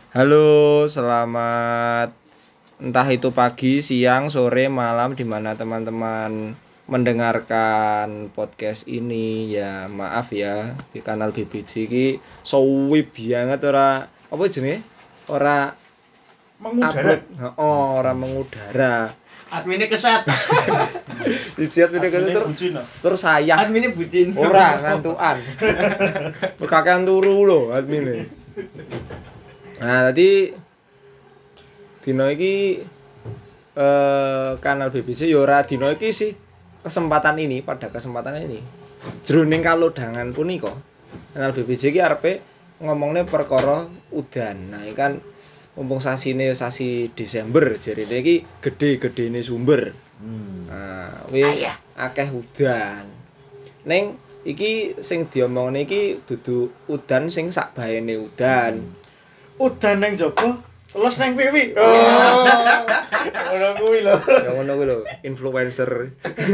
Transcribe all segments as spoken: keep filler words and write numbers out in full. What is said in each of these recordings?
Halo, selamat entah itu pagi, siang, sore, malam di mana teman-teman mendengarkan podcast ini. Ya, maaf ya di kanal B B J iki suwi banget ora apa jenenge? Ora Mengudara. upload. Heeh, ora mengudara. Adminnya kesat. Dijat video Adminnya tur bucin, no? tur sayah. Adminnya bucin. Ora ngantukan. Berkakean turu lho admine. Nah, tadi dino iki eh kanal B B C ya ora dino iki sih. Kesempatan ini, pada kesempatan ini jroning kalodangan punika kanal B B C iki arepe ngomongne perkara udan. Nah, iki kan mumpung sasine sasi Desember jarine iki gede-gedene sumber. Hmm. Nah, kuwi akeh udan. Ning iki sing diomongne iki dudu udan sing sak baene udan. Udan nang jaba, teles nang pipi. Oh. Ora kuwi lho. Ya ngono kuwi lho, influencer.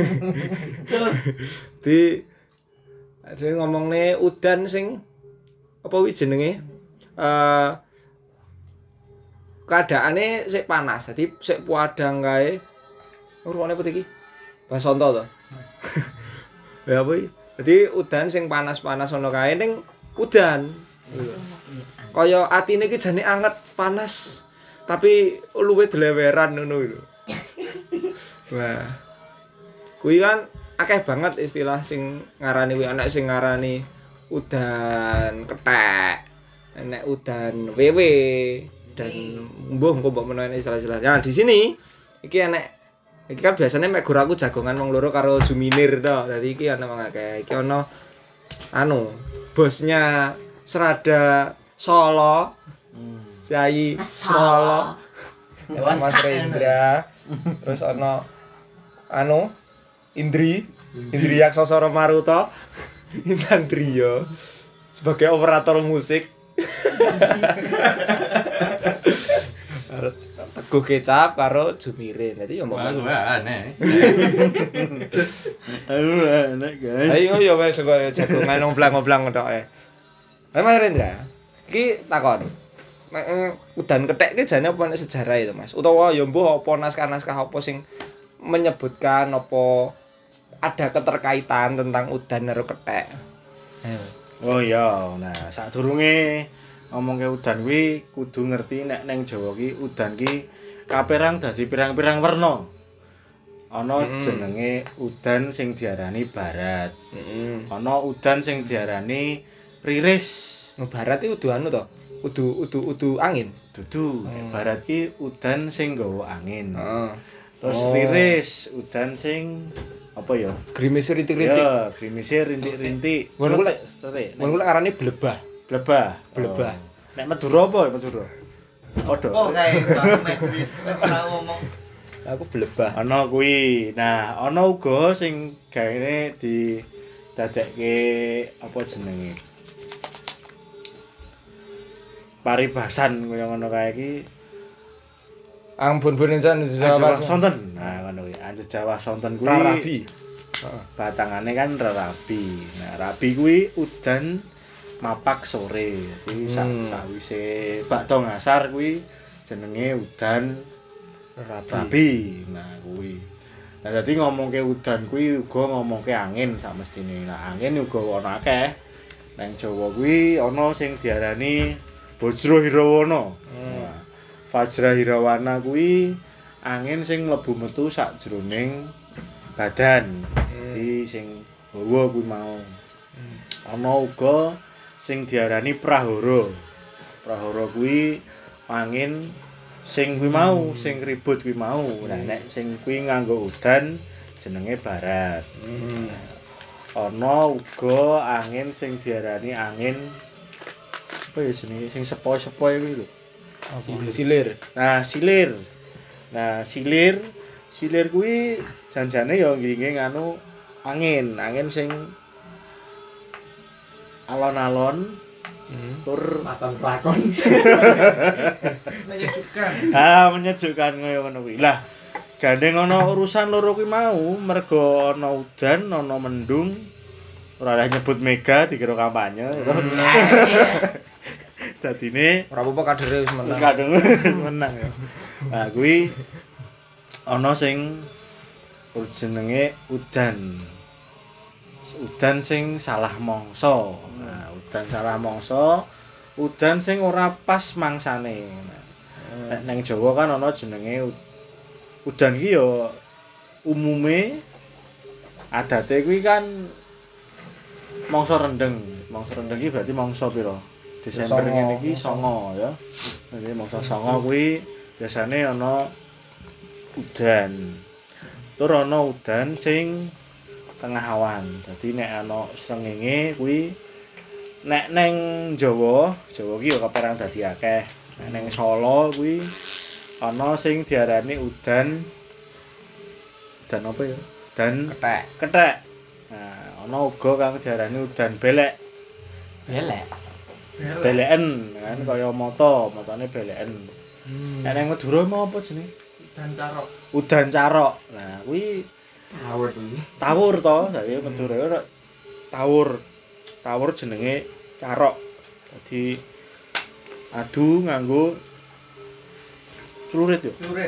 Di ada ngomongne udan sing apa wi jenenge? Eh keadaane sik panas, dadi sik puadang kae. Urune apa iki? Basonto to. Ya apa iki? Dadi udan sing panas-panas ono kae ning udan. Kaya atine iki jane anget, panas, tapi luwih dleweran ngono lho. Wah. Kuwi kan akeh banget istilah sing ngarani kuwi, ana sing ngarani udan kethek, enek udan wewe dan mbuh engko mbok menawa istilah-istilah. Nah, di sini iki enek iki kan biasanya mek guru aku jagongan wong loro karo Juminir to. Dadi iki ana wong akeh. Iki ana anu, bosnya Serada Solo. Yai Solo. Mas Rendra. Terus ana anu Indri, Indri Yaksosoro Maruto. Intan Trio sebagai operator musik. Teguh Kecap karo Jumirin. Dadi yo mbok aneh. Aduh, enak guys. ayo yo wis kok jagongan ngomblang-ngomblang tok e. Lah Mas Rendra, iki takon. Nek udan kethek iki jane apa nek sejarah itu, Mas? Utawa yo mbuh apa naskah-naskah apa sing menyebutkan apa ada keterkaitan tentang udan karo kethek. Ayo. Oh iya, nah sadurunge ngomongke udan kuwi kudu ngerti nek nang Jawa ki udan ki kapérang dadi pirang-pirang werna. Ana Mm. jenenge udan sing diarani barat. Heeh. Ana udan sing diarani riris. No barat iki udu anu to. Udu udu udu angin. Dudu, Hmm. barat ki udan sing nggawa angin. Heeh. Terus Oh. riris, udan sing apa ya? Grimis rintik-rintik. Ya, grimise rintik-rintik. Ngono ku lek Tetek. ngono ku lek arane blebah. Blebah. Blebah. Oh. Nek Madura apa Madura? Padha. Oh, kayak Bang Mesri. Ora ngomong. Aku blebah. Ana kuwi. Nah, ana uga sing gaene di dadekke apa jenenge? Paribasan kaya ngono kae iki. Ampun bunencan Jawa Jawa sonten. Nah, ngono kuwi. Anjir Jawa sonten kuwi. Rabi. Batangane kan rabi. Nah, rabi kuwi udan mapak sore. Jadi sak Hmm. sawise bakda ngasar kuwi jenenge udan Rabi. rabi. Nah, kuwi. Nah, dadi ngomongke udan kuwi uga ngomongke angin sak mestine. Nah, angin uga ana akeh. Nang Jawa kuwi ana sing diarani Bajra Hirawana. Hmm. Nah, Vajra Hirawana kuwi angin sing mlebu metu sak jroning badan. Jadi sing hawa kuwi mau. Ana uga sing diarani prahara. Prahara kuwi angin sing kuwi mau, sing ribut kuwi mau. Nah, nek sing kuwi nganggo udan jenenge barat. Hmm. Ana uga angin sing diarani angin apa ya jenenge sing sepoi-sepoi kuwi lho. Silir. Nah, silir. Nah, silir, silir kuwi janjane ya nggih nganu angin, angin sing alon-alon Hmm. tur Maton pelakon. Menyejukkan. ah menyejukkan kaya ngono kuwi. Lah, gandeng ana urusan loro kuwi mau, mergo ana udan, ana mendung. Ora oleh nyebut mega dikira kampanye. dadine Ora apa-apa kadere wis wis menang. kadung menang ya. Nah, kuwi ana sing jenenge udan. Udan sing salah mangsa. Nah, udan salah mangsa, udan sing ora pas mangsane. Nek nang Jawa kan ana jenenge udan ki ya umume adate kuwi kan mangsa rendeng. Mangsa rendeng ki berarti mangsa pira? Desember ngene iki songo ya. Jadi mangsa songo kuwi biasane ana udan. Tur ana udan sing tengah awan. Dadi nek ana srengenge kuwi nek neng Jawa, Jawa ki ya kaperang dadi akeh. Nek neng Solo kuwi ana sing diarani udan udan apa ya? Udan Kethek. kethek. Nah, ana uga kang diarani udan belek. Belek. Beleken kan kaya mata, matane beleken. Hmm. Nek neng Madura mau apa jenenge? Dan carok. Udan carok. Nah, kuwi Awet iki. tawur to, dadi Madura ora tawur. Tawur jenenge carok. Dadi adu nganggo celurit yo. Surit.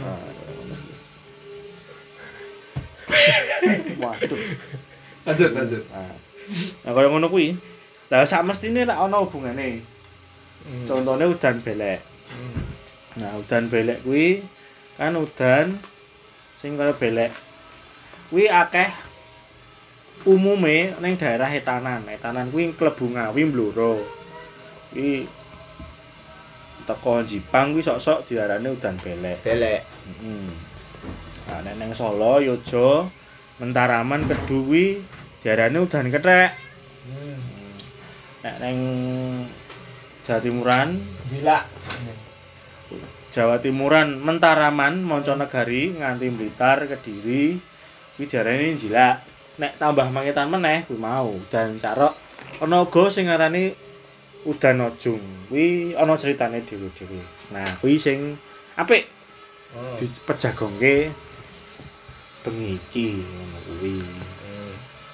Waduh. Lanjut lanjut. Nah, nah kaya ngono kuwi. Lah sak mestine lek ana hubungane. Hmm. Contone udan belek. Hmm. Nah, udan belek kuwi kan udan sing kaya belek. Kuwi akeh umume ning daerah etanan. Etanan kuwi klebu Ngawi Blora. Kuwi teko Jipang kuwi sok-sok diarani udan belek. Belek. Heeh. Nah, nek nang Solo, Yojo, Mentaraman, Kedu kuwi diarani udan kethek. Hmm. Nek nang Jawa Timuran, Jilak. Jawa Timuran, Mentaraman, Monconegari nganti Blitar, Kediri kuwi diarani jilak. Nek tambah mangetan meneh kuwi mau udan carok. Ana uga sing ngarani udan ojung. Kuwi ana critane dhewe-dhewe. Nah, kuwi sing apik Hmm. dipejagongke bengi iki ngono kuwi. Hmm.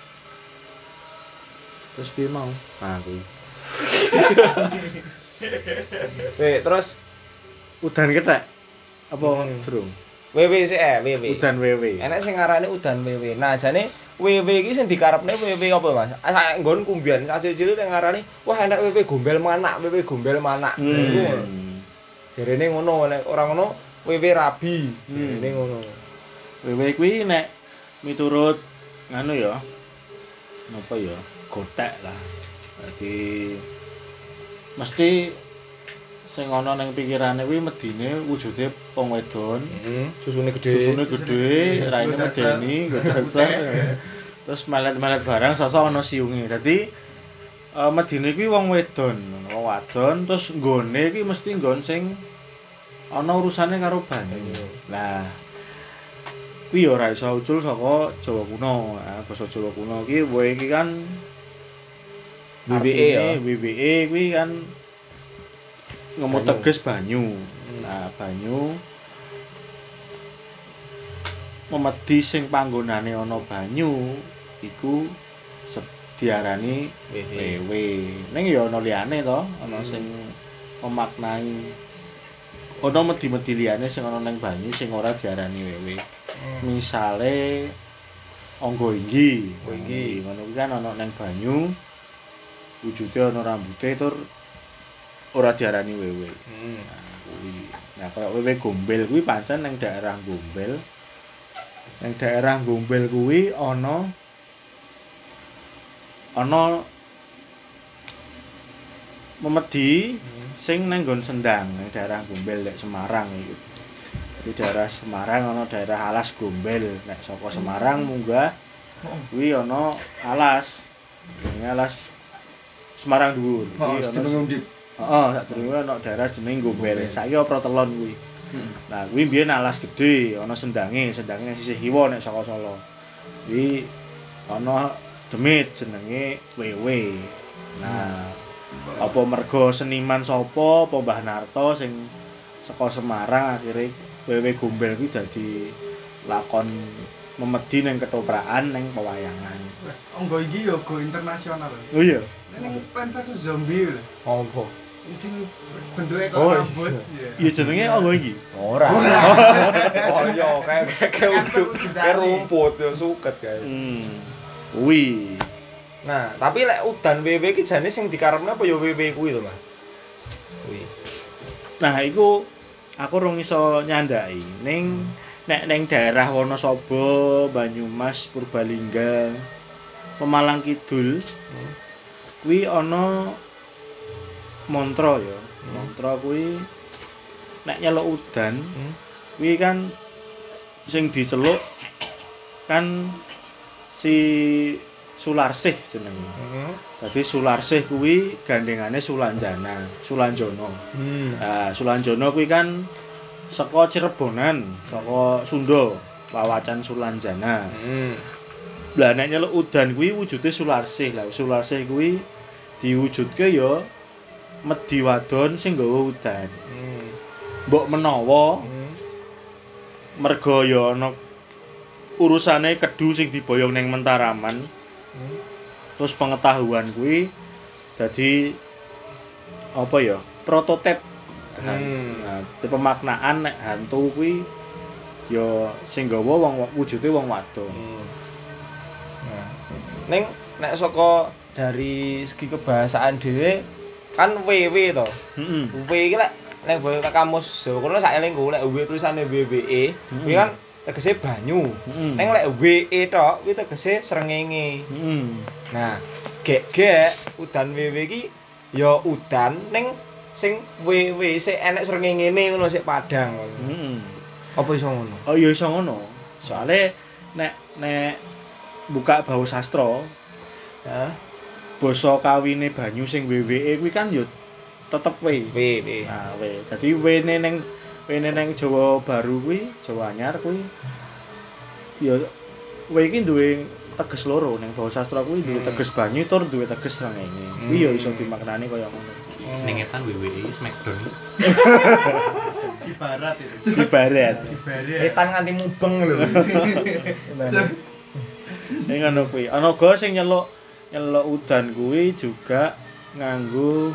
Terus piye mau? Nah, kuwi. Weh, terus Udan kethek. Apa Hmm. jerung? W W sih eh W W. Udan wewe. Enak sing ngarani udan W W. Nah, jane W W iki sing dikarepne W W apa, Mas? Ah, nggon kumbian cilik-cilik ning ngarani, wah enak W W gombel manak, W W gombel manak. Hmm. Jarene ngono, nek ora ngono W W rabi. Jarene Hmm. ngono. Wewe kuwi nek miturut nganu ya. Napa ya? Gotek lah. Dadi mesti sing ana ning pikirane kuwi medine wujude wong wedon. Heeh, susune gedhe. Susune gedhe, raine medeni, nggo dasar. Terus melet-melet barang sosok ana siunge. Dadi uh, medine kuwi wong wedon, wong wadon terus nggone iki mesti nggon sing ana urusane karo banyu. Lah kuwi ya ora iso ucul saka Jawa kuno. Nah, basa Jawa kuno iki wae iki kan W W E ya. W W E kuwi kan ngomong Banyu. teges banyu. Nah, banyu memedi sing panggonane ana banyu iku se- diarani W W. wewe. Ning ya ana liyane to, ana sing memaknai ana medi-medi liyane sing ana ning banyu sing ora diarani wewe. Misale angga inggi, Angga inggi. ngono kuwi kan ana ning banyu wujude ana rambute tur ora diarani wewe. Hmm. Nah, kuwi. Nah, kaya wewe gombel kuwi pancen ning daerah Gombel. Ning daerah Gombel kuwi ana ana memedi sing nang nggon Sendang ning daerah Gombel nek Semarang iki. Di daerah Semarang ana daerah Alas Gombel. Nek saka Semarang munggah kuwi ana alas. Jenenge Alas Semarang Dhuwur. Oh, Kuwi ana sedurunge undi. heeh, sadurunge ana daerah jeneng Gombel. Saiki ora Telon kuwi. Nah, kuwi mbiyen alas gedhe, ana sendange, sendange nang sisih kiwa nek saka Solo. Kuwi ana demit jenenge Wewe. Nah, apa mergo seniman sapa, apa Mbah Narto sing saka Semarang akhire Wewe Gombel kuwi dadi lakon memedi ning ketoprakan ning pewayangan. Angga iki yo go internasional. Oh iya. Ning Plan versus Zombie lho. Apa? Sing bentuke kok Oh, rambut. iya. Ya jenenge apa iki? Ora. Oh iya kayak kayak uduk, kayak rumput ya suket kayak. Hmm. Kuwi. Nah, tapi lek udan W W ki jane sing dikarepne apa ya W W kuwi to, Mas? Kuwi. Nah, iku aku rung iso nyandai. Ning nek ning daerah Wonosobo, Banyumas, Purbalingga, Pemalang Kidul, kuwi ana mantra ya. Mantra kuwi nek nyeluk udan, Hmm. kuwi kan sing diceluk kan si Sularsih jenenge. Heeh. Dadi Sularsih kuwi gandengane Sulanjana, Sulanjono. Hmm. Nah, Sulanjono kuwi kan saka Cirebonan, saka Sunda, Wawacan Sulanjana. Hmm. Lah nek nyeluk udan kuwi wujude Sularsih. Lah Sularsih kuwi diwujudke ya medhi wadon sing nggawa udan. Hmm. Mbok menawa Hmm. merga ya ana urusane kedu sing diboyong ning Mentaraman. Hmm. Terus pengetahuan kuwi dadi apa ya? Prototip. Hmm. Nah, pemaknaan nek hantu kuwi ya sing nggawa wong wujude wong wadon. Hmm. Nah, ning nek saka dari segi kebahasaan dhewe kan W W to. Heeh. W iki lek nek boyo kamus Jawa kuno sak elingku lek W tulisane W W E kuwi kan tegese banyu. Heeh. Ning lek W E tok kuwi tegese srengenge. Heeh. Nah, gek-gek udan W W iki ya udan ning sing W W sik enek srengengene ngono sik padang. Heeh. Apa iso ngono? Oh ya iso ngono. Soale nek nek buka bau sastra, Hah? basa kawine banyu sing W W E kuwi kan ya tetep W. W W. Nah, W. Dadi W-ne ning W-ne ning Jawa Baru kuwi, Jawa Anyar kuwi ya W iki duwe teges loro ning basa sastra kuwi duwe Hmm. teges banyu tur duwe teges srengenge. Kuwi ya iso dimaknani kaya ngono. Ning etan W W E Smackdown iki. Di barat itu. Di barat. Di barat. Etan nganti mubeng lho. Ning ngono kuwi. Ana uga sing nyeluk nyeluk udan kuwi juga nganggo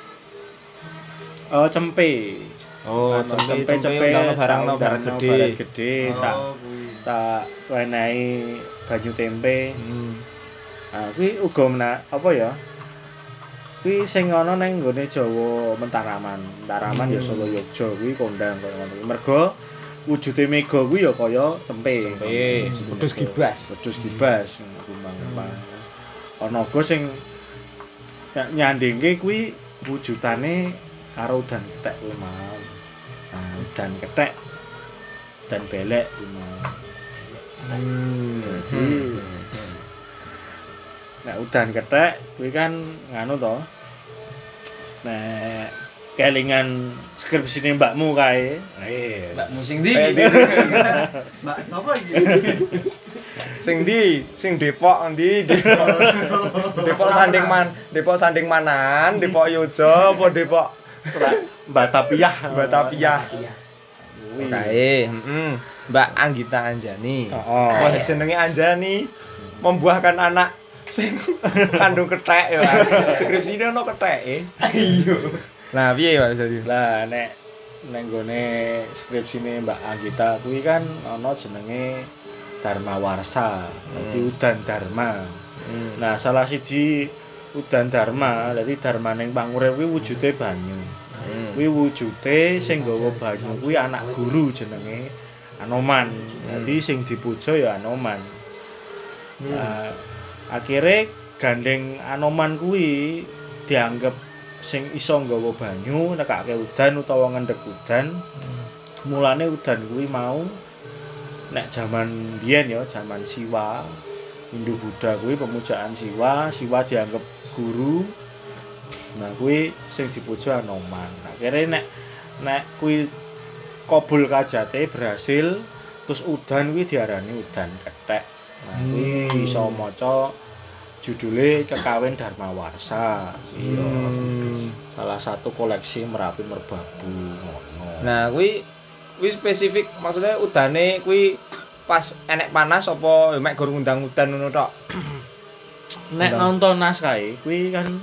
oh cempe. Oh, Anu, cempe cempe undang barang no barang undangno gede. barang gede tak Oh, kuwi. tak wenehi banyu tempe. Hmm. Ah kuwi uga menak apa ya? Kuwi sing ana ning nggone Jawa Mentaraman. Mentaraman ya Solo Yogya kuwi kondang kaya ngono. Mergo wujude mega kuwi ya kaya cempe. Cempe, wedhus gibas. Wedhus gibas kumbang-kumbang. Ana uga sing ny- nyandingke kuwi wujudane karo udan kethek kuwi mau. Nah, udan kethek dan belek kuwi mau. Hmm. Jadi nek udan kethek kuwi kan nganu to. Nek kelingan skripsine mbakmu kae. Eh, Mbak musing di. Mbak sapa iki? Sing di, sing Depok ndi? Depok. Depok Sanding Man, Depok Sanding Manan, Depok Yojo apa Depok Mbak Tapiah. Mbak Tapiah. Kuwi. Kae, heeh. Mbak Anggita Anjani. Heeh. Wah, jenenge Anjani membuahkan anak sing kandung kethek ya. Skripsine ono ketheke. Iya. Nah, piye ya jadi? Lah nek nek nggone skripsine Mbak Anggita kuwi kan ana jenenge Dharma Warsa. Dadi udan Dharma. Hmm. Nah, salah siji udan Dharma, dadi Dharma ning pangurip kuwi wujude banyu. Hmm. Kuwi wujude sing nggawa banyu kuwi anak guru jenenge Anoman. Dadi sing dipuja ya Anoman. Nah, akhire gandeng Anoman kuwi dianggep sing iso nggawa banyu nekake udan utawa ngendhek udan. Mulane udan kuwi mau nek jaman biyen ya, jaman Siwa, Hindu Buddha kuwi pemujaan Siwa, Siwa dianggep guru. Nah, kuwi sing dipuja Anoman. Akhire nek nek kuwi kabul kajate berhasil, terus udan kuwi diarani udan kethek. Nah, kuwi Hmm. iso maca judule Kekawin Dharma Warsa. Iya. Hmm. Salah satu koleksi Merapi Merbabu ngono. Nah, kuwi kuwi spesifik maksudnya udane kuwi pas enek panas apa mek gur ngundang udan ngono tok. Nek Undang. nonton naskah kuwi kan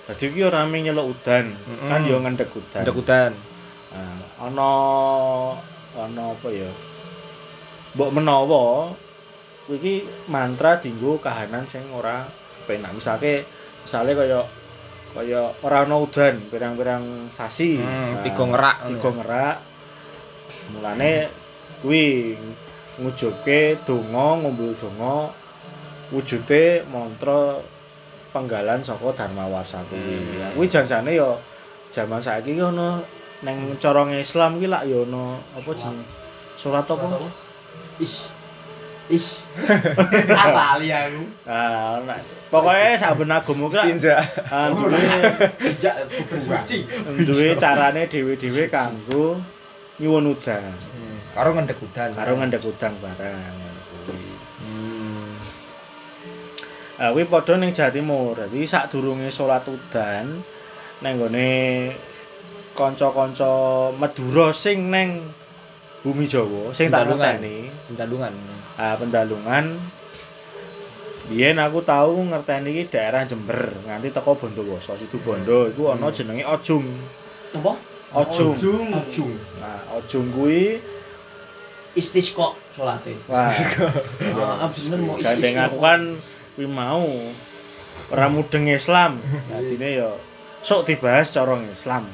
Dadi iki ora mung nyeluk udan, Mm-mm. kan yo ngendhek udan. Ndek udan. Nah, ana ana apa ya? Mbok menawa kuwi iki mantra dienggo kahanan sing ora penak. Misale misale kaya kaya ora ana udan pirang-pirang sasi. Hmm, Nah, tiga ngerak. tiga ngerak. Mulane kuwi ngujuke donga, ngumpul donga wujude mantra penggalan saka Dharma Warsa kuwi. Ya, kuwi janjane ya jaman saiki ki ana ning cara Islam ki lak ya ana apa jenenge? Salat apa? Is. Is. Apa ali aku? Ah, ana. Pokoke saben agama ki lak Istinja. ah, duwe Tidak bersuci. duwe carane dhewe-dhewe kanggo nyuwun udan. Karo ngendek udan. Karo ngendhek udan barang kuwi. Hmm. Ah, kuwi padha ning Jawa Timur. Dadi sadurunge salat udan nang gone kanca-kanca Madura sing neng bumi Jawa sing tak Pendalungan. ngerteni. Pendalungan. Ah, pendalungan biyen aku tau ngerteni iki daerah Jember nganti teko Bondowoso, Situbondo iku ana jenenge Ojung. Apa? Ojung. Ojung. Ojung. Nah, Ojung kuwi Istisqa salate. wah, Ah, bener mau gandeng aku kan kuwi mau ora mudeng Islam. Dadine ya sok dibahas cara Islam.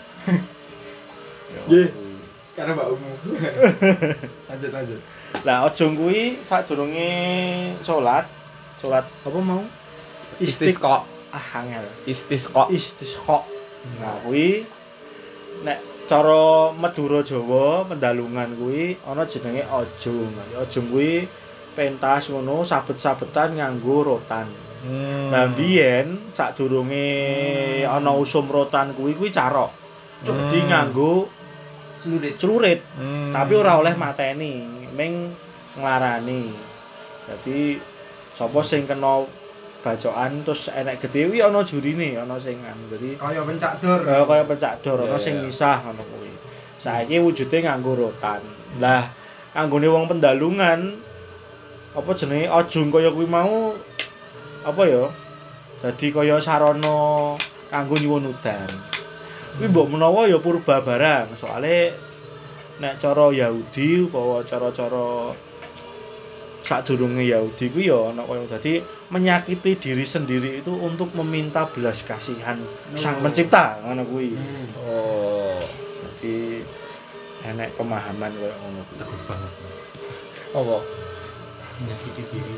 Nggih. Karena Mbak Umu. Lanjut lanjut. Lah Ojong kuwi sadurunge salat, salat apa mau? Istisqa. Ah, angel. Istisqa. Istisqa. Nah, kuwi nek cara Madura Jawa pendalungan kuwi ana jenenge Ojong. Ojong kuwi pentas ngono sabet-sabetan nganggo rotan. Hmm. Lah biyen sadurunge ana usum rotan kuwi kuwi carok. Dadi Hmm. nganggo Celurit. celurit. Hmm. Tapi ora oleh mateni, ming nglarani. Dadi sapa sing kena bacokan terus enek gedhe kuwi ana jurine, ana sing anu. Dadi Kaya pencak dor. kaya kaya pencak dor, ana Yeah, sing yeah. misah ngono kuwi. Saiki wujude nganggo rotan. Lah kanggone wong pendalungan apa jenenge Ojong kaya kuwi mau apa ya? Dadi kaya sarana kanggo nyuwun udan. Kuwi mbok menawa ya purba barang, soalé nek cara Yahudi utawa cara-cara sadurunge Yahudi kuwi ya ana kaya dadi menyakiti diri sendiri itu untuk meminta belas kasihan Sang Pencipta ngono kuwi. Hmm. Oh. Dadi enek pemahaman kaya ngono kuwi. Teguh banget. Apa? Menyakiti diri.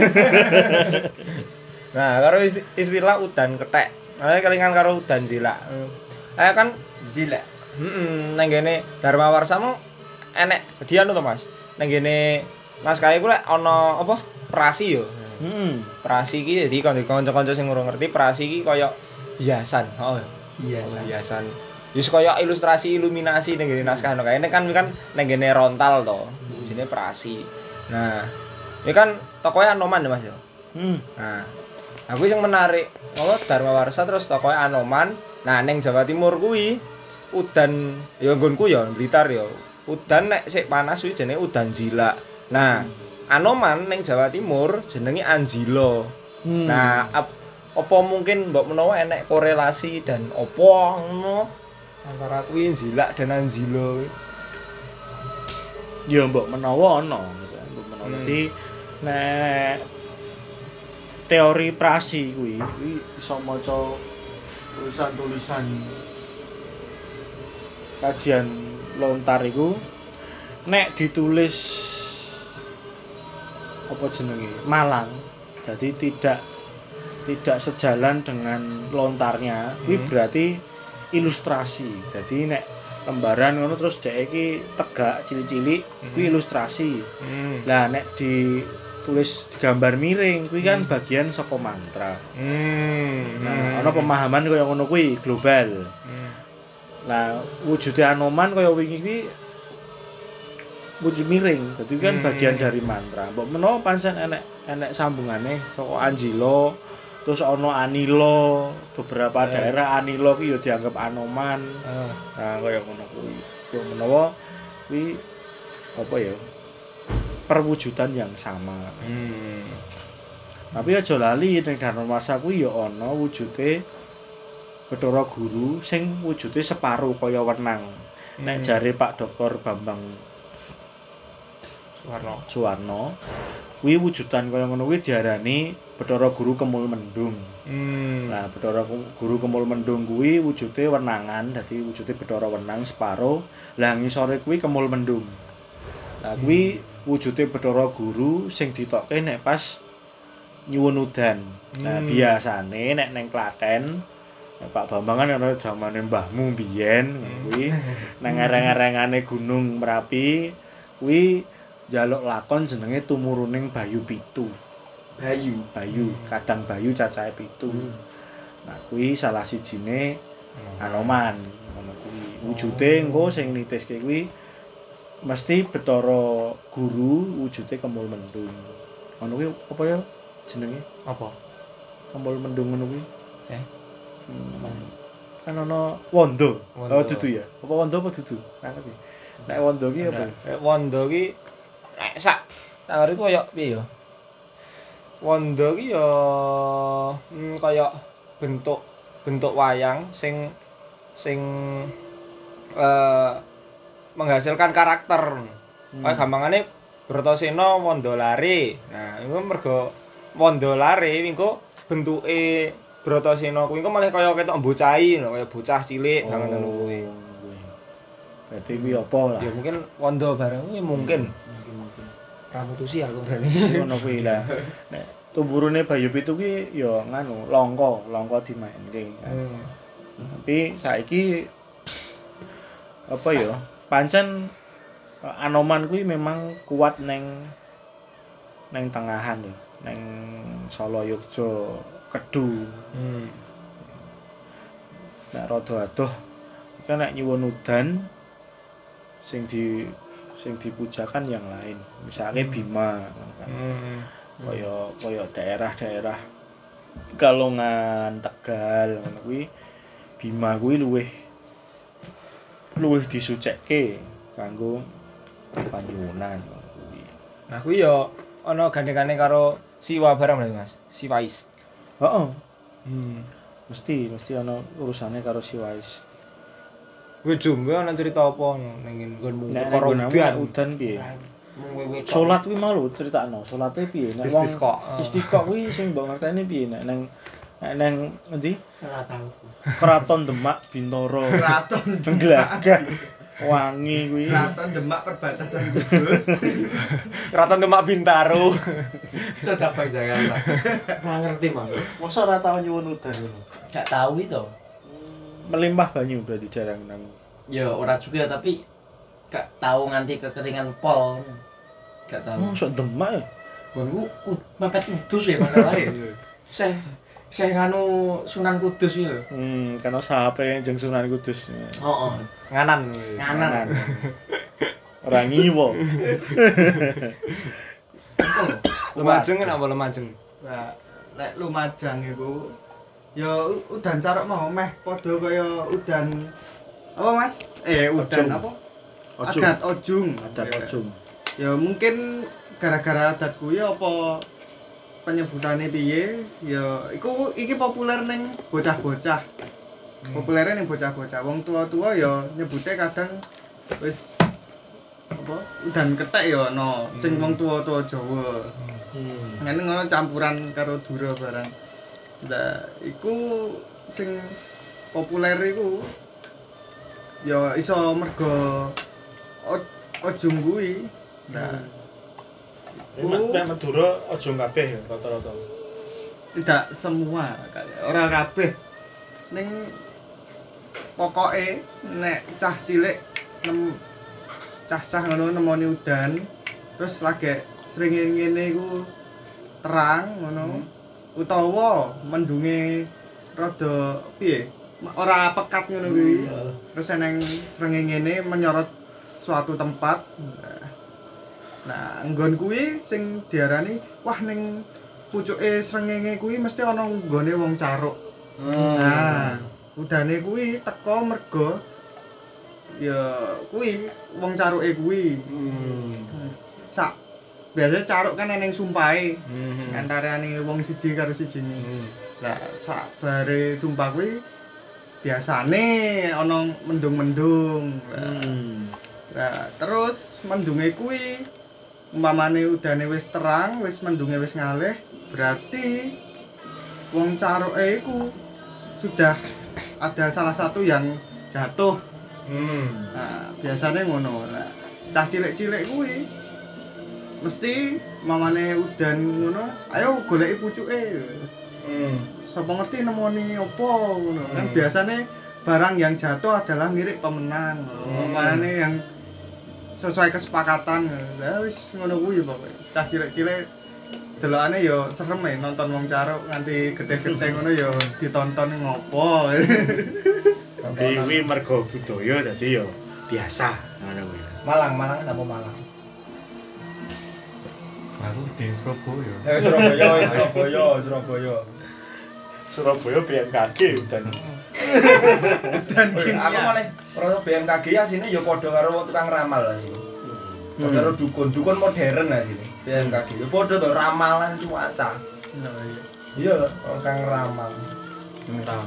Nah, karo isti- istilah udan kethek. Nah, kelingan karo udan jilak. Eh kan Jilek. heeh nang ngene Dharma Warsa mu enek dianu to, Mas. Nang ngene naskah iku lek ana apa? Prasi yo. Heeh. Prasi iki dadi kanca-kanca sing ora ngerti prasi iki kaya hiasan. Oh, Hiasan. hiasan. Wis kaya ilustrasi iluminasi ning ngene naskah no kae. Ini kan kan nang ngene rontal to. Jenenge prasi. Nah, ini kan tokoe Anoman ya, Mas ya. Hmm. Nah, aku sing menarik apa Dharma Warsa terus tokoe Anoman. Nah, ning Jawa Timur kuwi udan ya nggonku ya Blitar ya. Udan nek sik panas kuwi jenenge udan jilak. Nah, Anoman ning Jawa Timur jenenge Anjilo. Hmm. Nah, ap- apa mungkin mbok menawa enek korelasi dan apa ngono antara kuwi jilak dan Anjilo kuwi? Ya mbok menawa ana gitu kan. Mbok menawa. Hmm. Dadi nek teori prasi kuwi kuwi iso maca tulisan-tulisan kajian lontar iku nek ditulis apa jenenge Malang jadi tidak tidak sejalan dengan lontarnya kuwi Hmm. berarti ilustrasi jadi nek lembaran ngono terus dhek iki tegak cilik-cilik kuwi ilustrasi Hmm. lah nek ditulis digambar miring kuwi kan bagian saka mantra Hmm. nah ana pemahaman kaya ngono kuwi global. Hmm. Nah, wujude Anoman kaya wingi kuwi wujud miring. Dadi kan Hmm. bagian dari mantra. Mbok menawa pancen enek enek sambungane saka Anjilo, terus ana Anilo, beberapa Eh. daerah Anilo ki ya dianggap Anoman. Ah. Nah, kaya ngono kuwi. Mbok menawa kuwi apa ya? Perwujudan yang sama. Hmm. Tapi aja lali ning Dharma Warsa kuwi ya ana wujude Bathara Guru sing wujude separo kaya wenang. Nek jare Pak Doktor Bambang Suwarno. Suwarno, kuwi wujudan kaya ngono kuwi diarani Bathara Guru Kemul Mendung. Hmm. Nah, Bathara Guru Kemul Mendung kuwi wujude wenangan, dadi wujude Bathara Wenang separo, lah ngisore kuwi Kemul Mendung. Nah, kuwi wujude Bathara Guru sing ditokke nek pas nyuwun udan. Nah, Hmm. biasane nek neng Klaten Pak Bambang kan ana zamane mbahmu biyen kuwi nang areng-arengane Gunung Merapi kuwi njaluk lakon jenenge Tumuruning Bayu Pitu. Bayu. Bayu, kadang Bayu cacahe pitu. Nah, kuwi salah sijine Anoman ngono kuwi. Wujude engko sing nitiske kuwi mesti Bathara Guru wujude Kemul Mendung. Ngono kuwi apa ya jenenge? Apa? Kemul Mendung ngono kuwi. Eh. Hmm. Kan ana Wanda. Wanda. Oh dudu ya. Apa Wanda apa dudu? Ora ngerti. Nek Wanda ki apa? Nek Wanda ki nek sak tangare ku kaya piye ya? Wanda ki ya hmm, kaya bentuk bentuk wayang sing sing eh menghasilkan karakter. Hmm. Kayak gampangane Bratasena Wandalare. Nah, iku mergo Wandalare engko bentuke Bratasena kuwi engko malah kaya ketok bocahi, kaya bocah cilik banget ngono kuwi. Berarti kuwi apa lah? Ya mungkin Wanda bareng kuwi mungkin. Mungkin mungkin. Ramutusi aku berani. Ngono kuwi lah. Nek tumburune Bayu Pitu ki ya nganu, langka, langka dimainke. Hmm. Tapi saiki apa ya? Pancen Anoman kuwi memang kuat neng neng tengahan ya, neng Solo Yogya Kedu. Hmm. Nek rada adoh kan nek nyuwun udan sing di sing dipujakan yang lain. Misalnya Bima kan. Hmm. Kaya kaya daerah-daerah Kalongan, Tegal ngono kuwi Bima kuwi luwih luwih disucekke kanggo panyuwunan ngono kuwi. Nah kuwi ya ana gandengane karo Siwa barang berarti Mas. Siwais. Heeh, Hmm. mesti mesti ana urusane karo Siwais. Kuwi jumbe ana cerita apa ning nggonmu Nek karo udan udan. udan piye? Mung Salat kuwi mau lho critakno, salate piye? Nek wong Istisqa. istisqa kuwi sing mbok ngerteni piye nek nang nek nang endi? Ora tahu. Keraton Demak Bintoro. Keraton Glagah. Wangi kuwi. Keraton Demak perbatasan Kudus. Keraton Demak Bintaro. Iso cabang Jakarta. Ora ngerti, Mang. Mosok ora tau nyuwun udan ngono. Gak tahu itu. Melimpah banyu berarti jarang nang. Ya ora juga tapi gak tahu nganti kekeringan pol. Gak tahu. Mosok Demak ya? Gua ku mepet Kudus ya makalahe. Saya saya nganu Sunan Kudus iki lho. Hmm, karena sahape jeung Sunan Kudus. Heeh. Nganan. Nganan. Ora ngiwo. Lumajeng kan apa Lumajeng? Lah, lek Lumajang iku ya u- udan carok mau meh padha kaya udan apa Mas? Eh udan Ojung. apa? Ojung. Adat ojung. Adat Ya. ojung. Ya mungkin gara-gara adat kuwi apa penyebutannya piye ya iku iki populer ning bocah-bocah. Populernya ning bocah-bocah. Wong tua-tua ya nyebute kadang wis apa udan kethek ya ana sing wong tua-tua Jawa. Hmm. Ngene ngono campuran karo dura barang. Lah iku sing populer iku ya iso mergo o- ojung kuwi. Nah, Nek nek Madura ojung kabeh ya rata-rata. tidak semua ora kabeh. Ning pokoke nek cah cilik nem cah-cah ngono nemoni udan terus lagi sering ngene iku terang ngono utawa mendunge rada piye ora pekat ngono kuwi terus eneng srengenge ngene menyorot suatu tempat nah nggon kuwi sing diarani wah ning pucuke srengenge kuwi mesti ana nggone wong caruk nah udane kuwi teko mergo ya kuwi wong caruke kuwi sak biasanya caruk kan eneng sumpahe antarane wong siji karo siji. Lah sak bare sumpah kuwi biasane ana mendung-mendung. Hmm. Nah, terus mendunge kuwi umpamane udane wis terang, wis mendunge wis ngalih, berarti wong caruke iku sudah ada salah satu yang jatuh. Hmm. Nah, biasanya ngono. Nah, cah cilik-cilik kuwi mesti mamane udan ngono, ayo goleki pucuke. Hmm. Sapa ngerti nemoni apa ngono. Kan Hmm. biasanya barang yang jatuh adalah milik pemenang. Hmm. Makane yang sesuai kesepakatan. Ya wis ngono kuwi pokoke. Cah cilik-cilik delokane ya serem ya nonton wong caruk nganti gede-gede ngono ya ditonton ngopo. Tapi kuwi mergo budaya dadi ya biasa ngono kuwi. Malang, Malang apa Malang? Aku di Surabaya. Eh Surabaya, wis Surabaya, Surabaya. Surabaya B M K G udan. Dan Oh, iya, aku malah ora B M K G asine ya padha karo wong tukang ramal asine. Padha karo dukun, dukun modern asine. B M K G ya padha to ramalan cuaca. Iya lho, tukang ramal. Entah.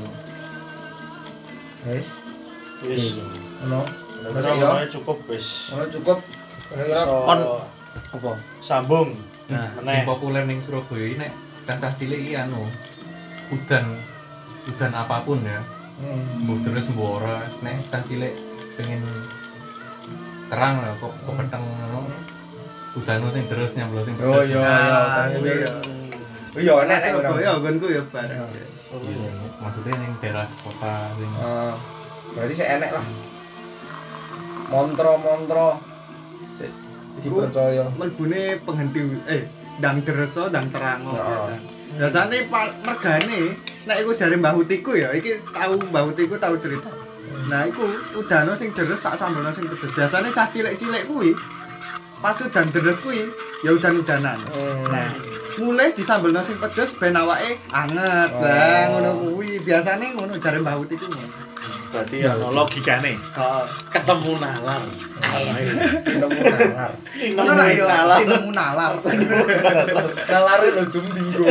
Wis, Wis. ngono. Ora ngono cukup wis. Ngono cukup. Kira-kira Iso kon apa? sambung. Nah, meneh. sing populer ning Surabaya ini nek cacah cilik iki anu udan udan apapun ya. hmm. Mbuh terus mbuh ora nek cacah cilik pengen terang lah kok kok peteng ngono. Udan sing terus nyamblo sing Oh pedes. iya, Ah, iya, kuwi iya. ya. Oh iya, enak nek ngono. Surabaya nggonku ya bareng. Iya, maksudnya ning daerah kota sing Eh, berarti sih enek lah. Montro-montro. Sik dipercaya. Mlebune penghenti eh ndang deresa ndang terang Heeh. biasa. Biasane pa- mergane nek iku jare Mbah Utiku ya, iki tau Mbah Utiku tau cerita. Nah, iku udano sing deres tak sambelno sing pedes. Biasane cah cilik-cilik kuwi pas udan deres kuwi ya udan-udanan. Hmm. Nah, mulai disambelno sing pedes ben awake anget. Oh. Lah ngono kuwi. Biasane ngono jare Mbah Utiku ngono. Berarti ana logikane. Heeh. Ketemu nalar. Ayo. Nemu nalar. Ngono lah ya, nemu nalar. Nalare lho jum dinggo.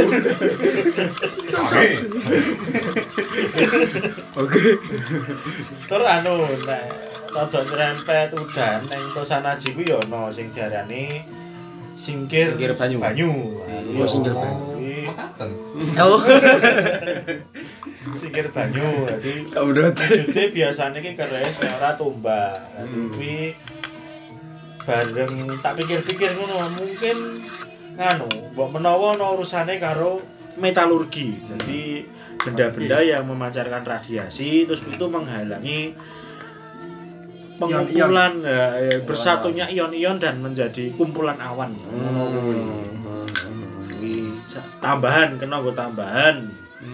Oke. Terus anu nek rada nyerempet udan ning Tosanaji kuwi ya ana sing diarani singkir Singkir banyu. Banyu. Oh, singkir banyu. Kuwi makaten. Oh. singkir banyu. Dadi Saudara. maksudnya biasanya ki keres nek ora tumbak. Dadi kuwi bareng tak pikir-pikir ngono mungkin nganu mbok menawa ana urusane karo metalurgi. Jadi benda-benda yang memancarkan radiasi terus itu menghalangi pengumpulan ya, ya, bersatunya ion-ion dan menjadi kumpulan awan. Ngono kuwi. Kuwi sa- tambahan kena nggo tambahan.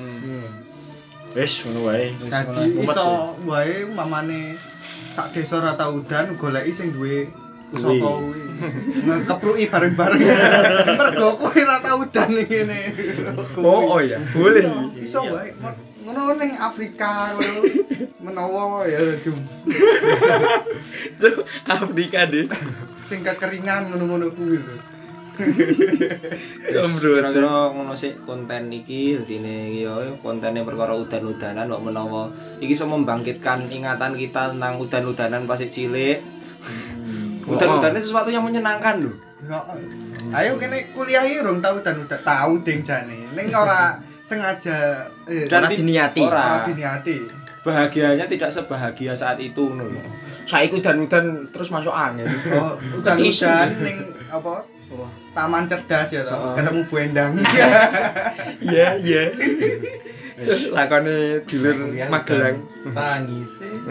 Wis ngono wae. Dadi iso wae umpamane sak desa ora tau udan goleki sing duwe pusaka kuwi. Ngekepruki bareng-bareng. Mergo kuwi ora tau udan ngene. Oh, oh ya, boleh. Iso wae. Ngono ning Afrika ngono. Menawa ya jum. Cuk, Afrika deh. Sing kekeringan ngono-ngono kuwi lho. Jombro kira-kira ngono sik konten iki dadine iki ya kontene perkara udan-udanan kok menawa iki iso membangkitkan ingatan kita tentang udan-udanan pas cilik. Udan-udanan sesuatu yang menyenangkan lho. Ayo kene kuliah iki urung tau udan-udan. Tau ding jane. Ning ora sengaja eh, Dan Ora ti- diniati. ora Ora. diniati. Bahagianya tidak sebahagia saat itu ngono lho. Saiki udan-udan terus masuk angin. Oh, udan-udan ning apa? Taman cerdas ya toh. Heeh. Ketemu Bu Endang. Iya, iya. Terus lakone dulur Magelang. Tangis e.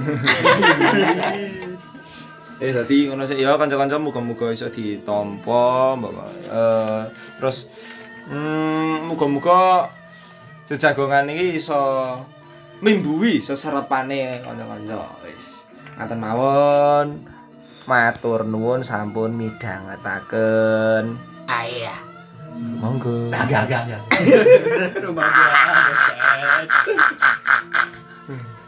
Eh dadi ngono sik ya kanca-kanca muga-muga iso ditampa mbok eh terus hmm muga-muga jejagongan iki iso mimbuhi seserepane kanca-kanca wis ngaten mawon matur nuwun sampun midhangetaken Ayah. monggo Agak agak agak. Rumah gua.